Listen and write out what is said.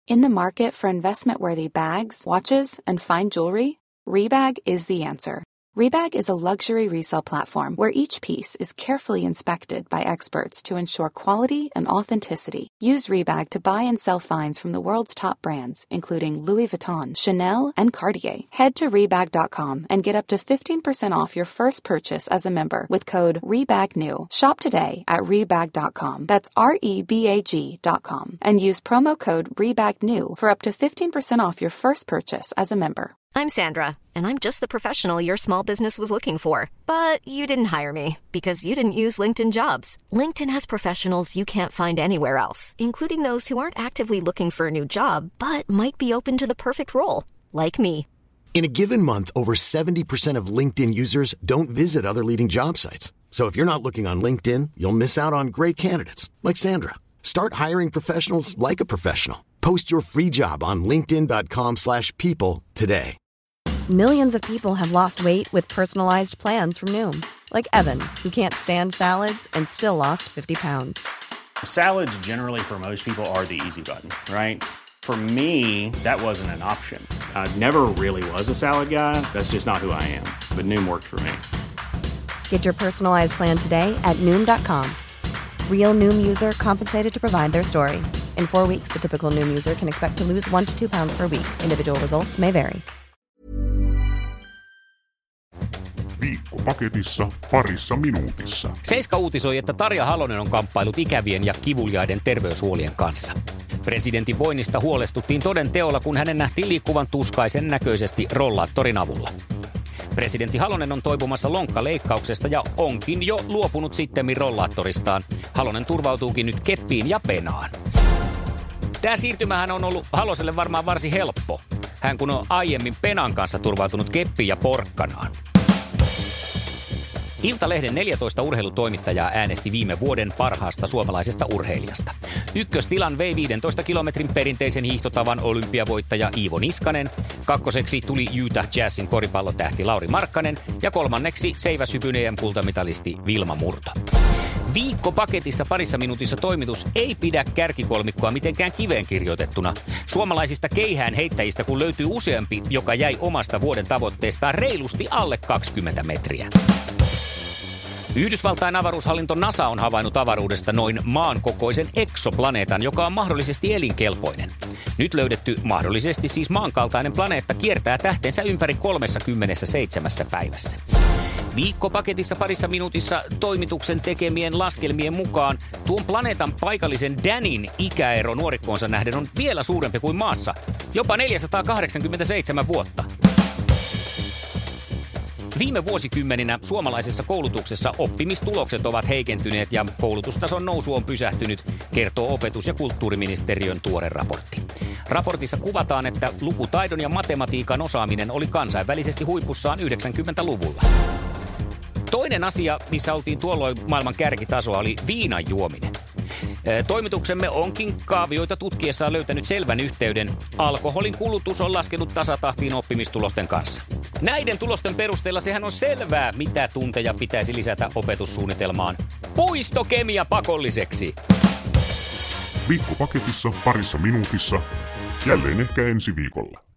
In the market for investment-worthy bags, watches, and fine jewelry, Rebag is the answer. Rebag is a luxury resale platform where each piece is carefully inspected by experts to ensure quality and authenticity. Use Rebag to buy and sell finds from the world's top brands, including Louis Vuitton, Chanel, and Cartier. Head to Rebag.com and get up to 15% off your first purchase as a member with code REBAGNEW. Shop today at Rebag.com. That's REBAG.com. And use promo code REBAGNEW for up to 15% off your first purchase as a member. I'm Sandra, and I'm just the professional your small business was looking for. But you didn't hire me because you didn't use LinkedIn Jobs. LinkedIn has professionals you can't find anywhere else, including those who aren't actively looking for a new job, but might be open to the perfect role, like me. In a given month, over 70% of LinkedIn users don't visit other leading job sites. So if you're not looking on LinkedIn, you'll miss out on great candidates, like Sandra. Start hiring professionals like a professional. Post your free job on linkedin.com/people today. Millions of people have lost weight with personalized plans from Noom. Like Evan, who can't stand salads and still lost 50 pounds. Salads generally for most people are the easy button, right? For me, that wasn't an option. I never really was a salad guy. That's just not who I am. But Noom worked for me. Get your personalized plan today at Noom.com. Real Noom user compensated to provide their story. In 4 weeks, the typical Noom user can expect to lose 1 to 2 pounds per week. Individual results may vary. Viikkopaketissa parissa minuutissa. Seiska uutisoi, että Tarja Halonen on kamppailut ikävien ja kivuliaiden terveyshuolien kanssa. Presidentin voinnista huolestuttiin toden teolla, kun hänen nähtiin liikkuvan tuskaisen näköisesti rollaattorin avulla. Presidentti Halonen on toipumassa lonkkaleikkauksesta ja onkin jo luopunut sittemmin rollaattoristaan. Halonen turvautuukin nyt keppiin ja penaan. Tämä siirtymähän on ollut Haloselle varmaan varsin helppo. Hän kun on aiemmin penan kanssa turvautunut keppiin ja porkkanaan. Iltalehden 14 urheilutoimittajaa äänesti viime vuoden parhaasta suomalaisesta urheilijasta. Ykköstilan vei 15 kilometrin perinteisen hiihtotavan olympiavoittaja Iivo Niskanen. Kakkoseksi tuli Utah Jazzin koripallotähti Lauri Markkanen ja kolmanneksi seiväshypyn EM-kultamitalisti Vilma Murto. Viikkopaketissa parissa minuutissa toimitus ei pidä kärkikolmikkoa mitenkään kiveen kirjoitettuna. Suomalaisista keihään heittäjistä kun löytyy useampi, joka jäi omasta vuoden tavoitteestaan reilusti alle 20 metriä. Yhdysvaltain avaruushallinto NASA on havainnut avaruudesta noin maan kokoisen eksoplaneetan, joka on mahdollisesti elinkelpoinen. Nyt mahdollisesti siis maankaltainen planeetta kiertää tähtensä ympäri 37 päivässä. Viikkopaketissa parissa minuutissa toimituksen tekemien laskelmien mukaan tuon planeetan paikallisen Danin ikäero nuorikkoonsa nähden on vielä suurempi kuin maassa, jopa 487 vuotta. Viime vuosikymmeninä suomalaisessa koulutuksessa oppimistulokset ovat heikentyneet ja koulutustason nousu on pysähtynyt, kertoo opetus- ja kulttuuriministeriön tuore raportti. Raportissa kuvataan, että lukutaidon ja matematiikan osaaminen oli kansainvälisesti huipussaan 90-luvulla. Toinen asia, missä oltiin tuolloin maailman kärkitasoa, oli viinan juominen. Toimituksemme onkin kaavioita tutkiessaan löytänyt selvän yhteyden. Alkoholin kulutus on laskenut tasatahtiin oppimistulosten kanssa. Näiden tulosten perusteella sehän on selvää, mitä tunteja pitäisi lisätä opetussuunnitelmaan. Puistokemia pakolliseksi! Viikkopaketissa parissa minuutissa. Jälleen ehkä ensi viikolla.